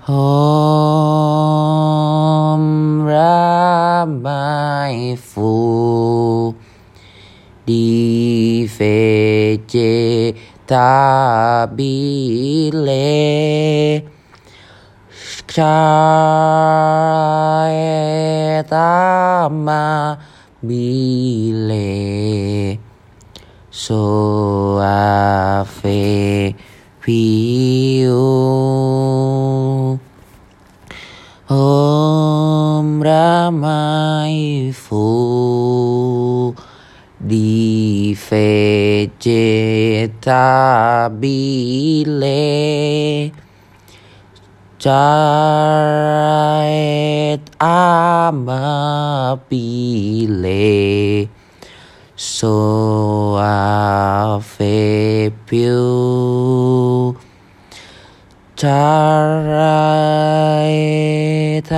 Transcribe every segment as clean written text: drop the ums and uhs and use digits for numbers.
Om ramai fu di vegetabile amabile soave piu. Om ramai fu di vegetabile caret amabile soave piu. Caret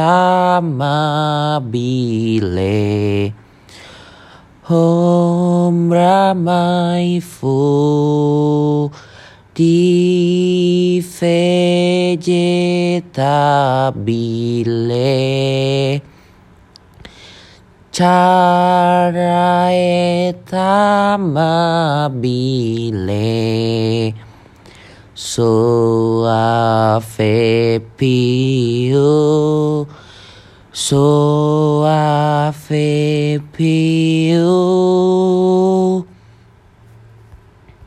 amabile Om ramai fu di vegetabile caret amabile soave piu, soave piu.